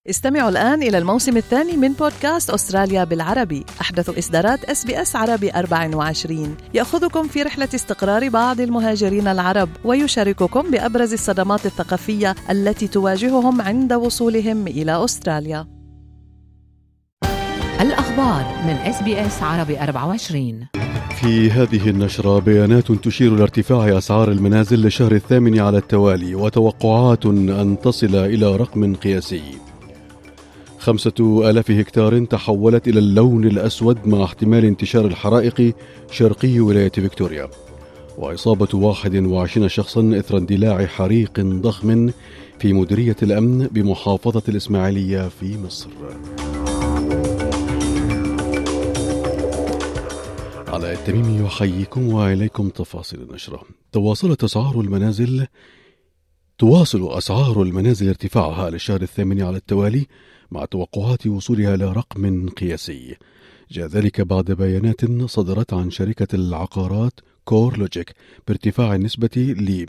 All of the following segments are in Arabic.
استمعوا الآن إلى الموسم الثاني من بودكاست أستراليا بالعربي، أحدث إصدارات SBS عربي 24، يأخذكم في رحلة استقرار بعض المهاجرين العرب ويشارككم بأبرز الصدمات الثقافية التي تواجههم عند وصولهم إلى أستراليا. الأخبار من SBS عربي 24. في هذه النشرة بيانات تشير لارتفاع أسعار المنازل للشهر الثامن على التوالي وتوقعات أن تصل إلى رقم قياسي. 5,000 هكتار تحولت إلى اللون الأسود مع احتمال انتشار الحرائق شرقي ولاية فيكتوريا، وإصابة 21 شخصا إثر اندلاع حريق ضخم في مديرية الأمن بمحافظة الإسماعيلية في مصر. على التميم يحييكم وإليكم تفاصيل النشرة. تواصل أسعار المنازل ارتفاعها للشهر الثامن على التوالي مع توقعات وصولها إلى رقم قياسي. جاء ذلك بعد بيانات صدرت عن شركة العقارات كور لوجيك بارتفاع النسبة ل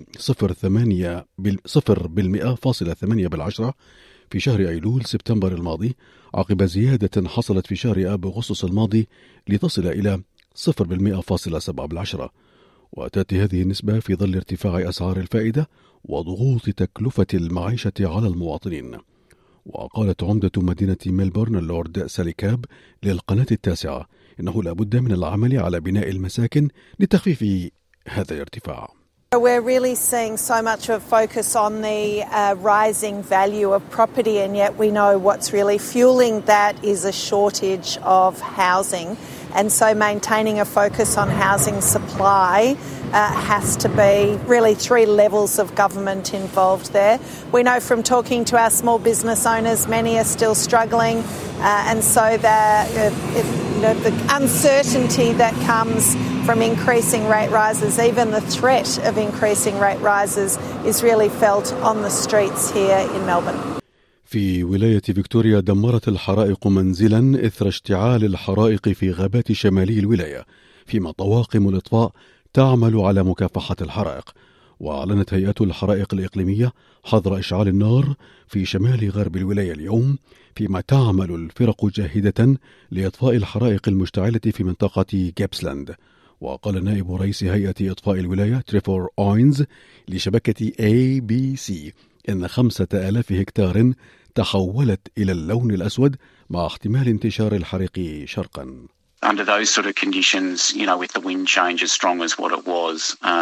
0.8% في شهر أيلول سبتمبر الماضي، عقب زيادة حصلت في شهر آب أغسطس الماضي لتصل إلى 0.7%. وتأتي هذه النسبة في ظل ارتفاع أسعار الفائدة وضغوط تكلفة المعيشة على المواطنين. وقالت عمدة مدينة ميلبورن اللورد سالي كاب للقناة التاسعة إنه لا بد من العمل على بناء المساكن لتخفيف هذا الارتفاع. We're really seeing so much of focus on the rising value of property, and yet we know what's really fueling that is a shortage of housing. And so maintaining a focus on housing supply has to be really three levels of government involved there. We know from talking to our small business owners, many are still struggling, and so the uncertainty that comes from increasing rate rises, even the threat of increasing rate rises, is really felt on the streets here in Melbourne. في ولاية فيكتوريا دمرت الحرائق منزلا إثر اشتعال الحرائق في غابات شمالي الولاية، فيما طواقم الإطفاء تعمل على مكافحة الحرائق. وأعلنت هيئة الحرائق الإقليمية حظر إشعال النار في شمال غرب الولاية اليوم، فيما تعمل الفرق جاهدة لإطفاء الحرائق المشتعلة في منطقة جيبسلاند. وقال نائب رئيس هيئة إطفاء الولاية تريفور أوينز لشبكة ABC إن 5,000 هكتار تحولت إلى اللون الأسود مع احتمال انتشار الحريق شرقا. Under those sort of conditions, with the wind change as strong as what it was,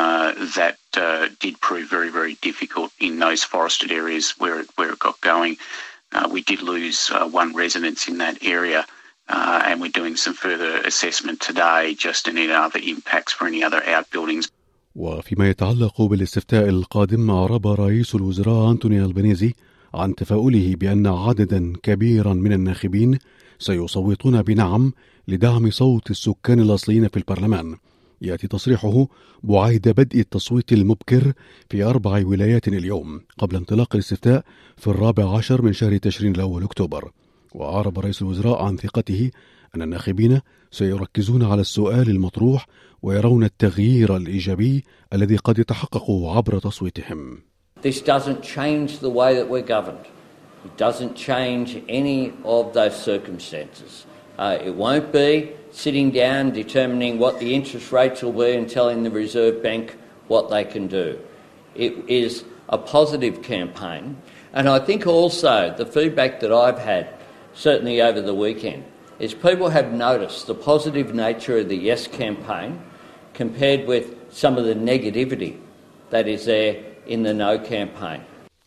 that did prove very, very difficult in those forested areas where it got going. We did lose one resident in that area, and we're doing some further assessment today just in any other impacts for any other outbuildings. وفيما يتعلق بالاستفتاء القادم، أعرب رئيس الوزراء أنتوني ألبانيزي عن تفاؤله بأن عددا كبيرا من الناخبين سيصوتون بنعم لدعم صوت السكان الأصليين في البرلمان. يأتي تصريحه بعد بدء التصويت المبكر في 4 ولايات اليوم قبل انطلاق الاستفتاء في 14 من شهر تشرين الأول أكتوبر. وأعرب رئيس الوزراء عن ثقته أن الناخبين سيركزون على السؤال المطروح ويرون التغيير الإيجابي الذي قد يتحقق عبر تصويتهم. This doesn't change the way that we're governed. It doesn't change any of those circumstances. It won't be sitting down determining what the interest rates will be and telling the Reserve Bank what they can do. It is a positive campaign. And I think also the feedback that I've had, certainly over the weekend, is people have noticed the positive nature of the Yes campaign compared with some of the negativity that is there in the No campaign.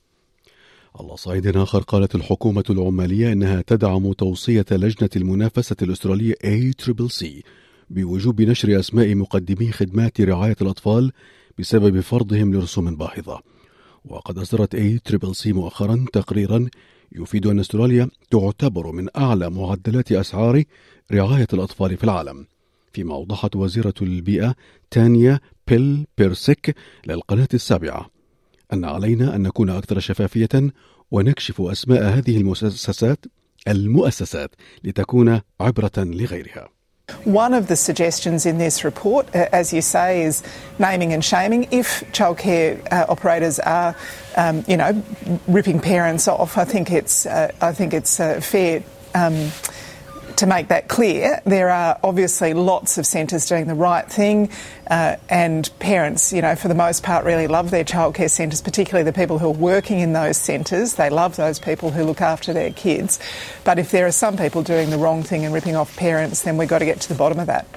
على صعيد آخر، قالت الحكومة العمالية إنها تدعم توصية لجنة المنافسة الأسترالية ACCC بوجوب نشر أسماء مقدمي خدمات رعاية الأطفال بسبب فرضهم لرسوم باهظة. وقد أصدرت ACCC مؤخرا تقريرا يفيد أن أستراليا تعتبر من أعلى معدلات أسعار رعاية الأطفال في العالم، فيما أوضحت وزيرة البيئة تانيا بيرسيك للقناة السابعة أن علينا أن نكون أكثر شفافية ونكشف أسماء هذه المؤسسات لتكون عبرة لغيرها. One of the suggestions in this report, as you say, is naming and shaming. If childcare operators are, ripping parents off, I think it's fair to make that clear. There are obviously lots of centres doing the right thing, and parents, for the most part, really love their childcare centres, particularly the people who are working in those centres. They love those people who look after their kids. But if there are some people doing the wrong thing and ripping off parents, then we've got to get to the bottom of that.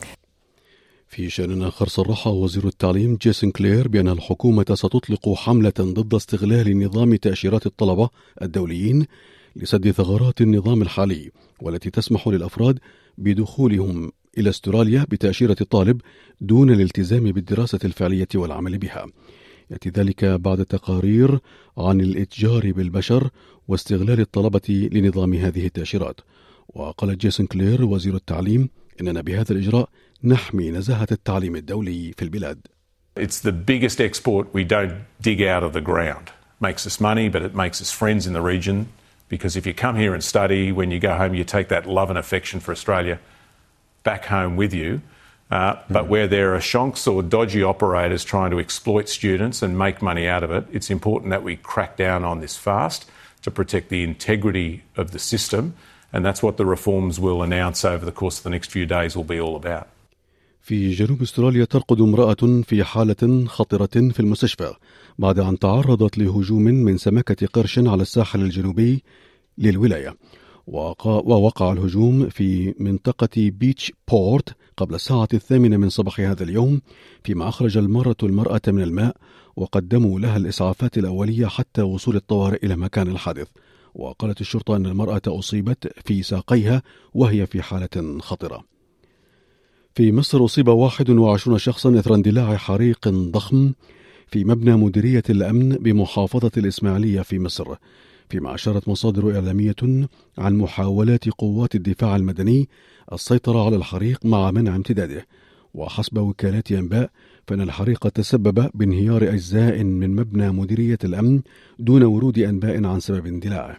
في شأن آخر صرح وزير التعليم جيسون كلير بأن الحكومة ستطلق حملة ضد استغلال نظام تأشيرات الطلبة الدوليين لسد ثغرات النظام الحالي، والتي تسمح للأفراد بدخولهم إلى أستراليا بتأشيرة الطالب دون الالتزام بالدراسة الفعلية والعمل بها. يأتي ذلك بعد تقارير عن الإتجار بالبشر واستغلال الطلبة لنظام هذه التأشيرات. وقال جيسون كلير وزير التعليم إننا بهذا الإجراء نحمي نزاهة التعليم الدولي في البلاد. It's the biggest export we don't dig out of the ground. Makes us money, but it makes us friends in the region. Because if you come here and study, when you go home, you take that love and affection for Australia back home with you. But where there are shonks or dodgy operators trying to exploit students and make money out of it, it's important that we crack down on this fast to protect the integrity of the system. And that's what the reforms we'll announce over the course of the next few days will be all about. في جنوب أستراليا ترقد امرأة في حالة خطرة في المستشفى بعد أن تعرضت لهجوم من سمكة قرش على الساحل الجنوبي للولاية. ووقع الهجوم في منطقة بيتش بورت قبل الساعة 8 من صباح هذا اليوم، فيما أخرج المرة المرأة من الماء وقدموا لها الإسعافات الأولية حتى وصول الطوارئ إلى مكان الحادث. وقالت الشرطة أن المرأة أصيبت في ساقيها وهي في حالة خطرة. في مصر أصيب 21 شخصا إثر اندلاع حريق ضخم في مبنى مديرية الأمن بمحافظة الإسماعيلية في مصر، فيما أشارت مصادر إعلامية عن محاولات قوات الدفاع المدني السيطرة على الحريق مع منع امتداده. وحسب وكالات أنباء فإن الحريق تسبب بانهيار أجزاء من مبنى مديرية الأمن دون ورود أنباء عن سبب اندلاعه.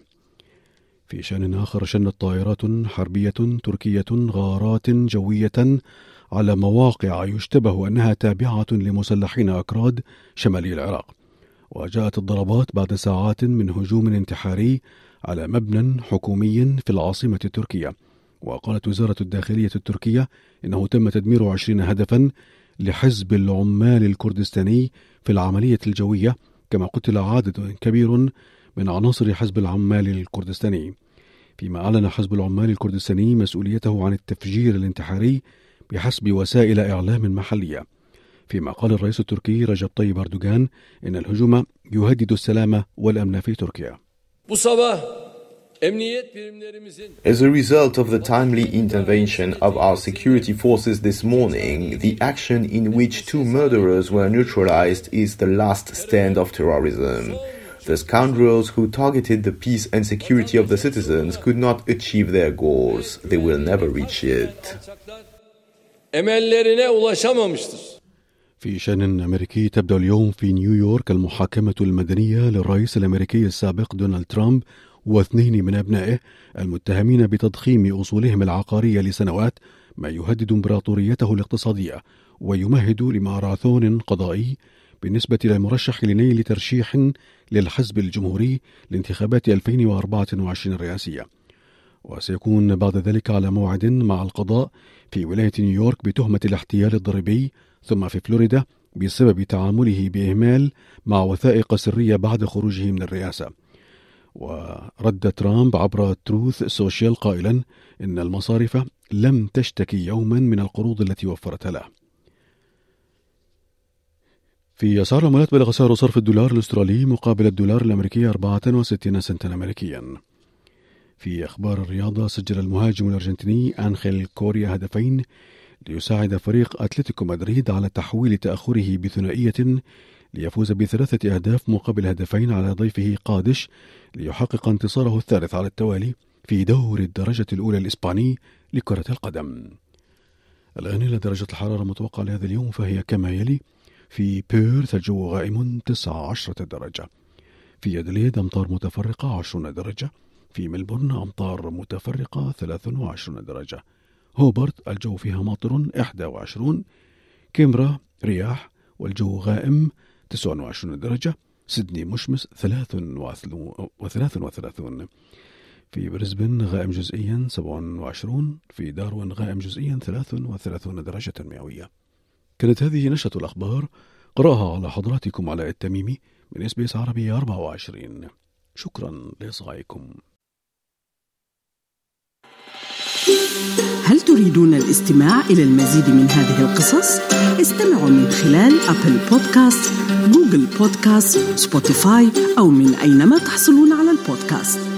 في شأن آخر، شنت طائرات حربية تركية غارات جوية على مواقع يشتبه أنها تابعة لمسلحين أكراد شمالي العراق. وجاءت الضربات بعد ساعات من هجوم انتحاري على مبنى حكومي في العاصمة التركية. وقالت وزارة الداخلية التركية إنه تم تدمير 20 هدفا لحزب العمال الكردستاني في العملية الجوية، كما قتل عدد كبير من عناصر حزب العمال الكردستاني. فيما أعلن حزب العمال الكردستاني مسؤوليته عن التفجير الانتحاري بحسب وسائل إعلام محلية. فيما قال الرئيس التركي رجب طيب أردوغان إن الهجوم يهدد السلام والأمن في تركيا. As a result of the timely intervention of our security forces this morning, the action in which 2 murderers were neutralized is the last stand of terrorism. The scoundrels who targeted the peace and security of the citizens could not achieve their goals. They will never reach it. في شأن أمريكي، تبدأ اليوم في نيويورك المحاكمة المدنية للرئيس الأمريكي السابق دونالد ترامب و2 من أبنائه المتهمين بتضخيم أصولهم العقارية لسنوات، ما يهدد إمبراطوريته الاقتصادية ويمهد لماراثون قضائي بالنسبة للمرشح لنيل ترشيح للحزب الجمهوري لانتخابات 2024 الرئاسية. وسيكون بعد ذلك على موعد مع القضاء في ولاية نيويورك بتهمة الاحتيال الضريبي، ثم في فلوريدا بسبب تعامله بإهمال مع وثائق سرية بعد خروجه من الرئاسة. ورد ترامب عبر تروث سوشيال قائلا إن المصارف لم تشتكي يوما من القروض التي وفرتها له. في أسعار العملات، بلغ سعر صرف الدولار الأسترالي مقابل الدولار الأمريكي 64 سنتا أمريكيا. في أخبار الرياضة، سجل المهاجم الأرجنتيني أنخيل كوريا هدفين ليساعد فريق أتلتيكو مدريد على تحويل تأخره بثنائية ليفوز ب3 أهداف مقابل هدفين على ضيفه قادش ليحقق انتصاره الثالث على التوالي في دور الدرجة الأولى الإسباني لكرة القدم. الآن إلى درجة الحرارة المتوقعة لهذا اليوم فهي كما يلي: في بيرث الجو غائم 19 درجة، في أدليد أمطار متفرقة 20 درجة، في ملبورن أمطار متفرقة 23 درجة، هوبرت الجو فيها ماطر 21. كامبرا رياح والجو غائم 29 درجة. سيدني مشمس 33. في بريسبن غائم جزئيا 27. في داروين غائم جزئيا 33 درجة مئوية. كانت هذه نشرة الأخبار، قرأها على حضراتكم علاء التميمي من SBS عربي 24. شكرا لإصغائكم. هل تريدون الاستماع إلى المزيد من هذه القصص؟ استمعوا من خلال أبل بودكاست، جوجل بودكاست، سبوتيفاي أو من أينما تحصلون على البودكاست.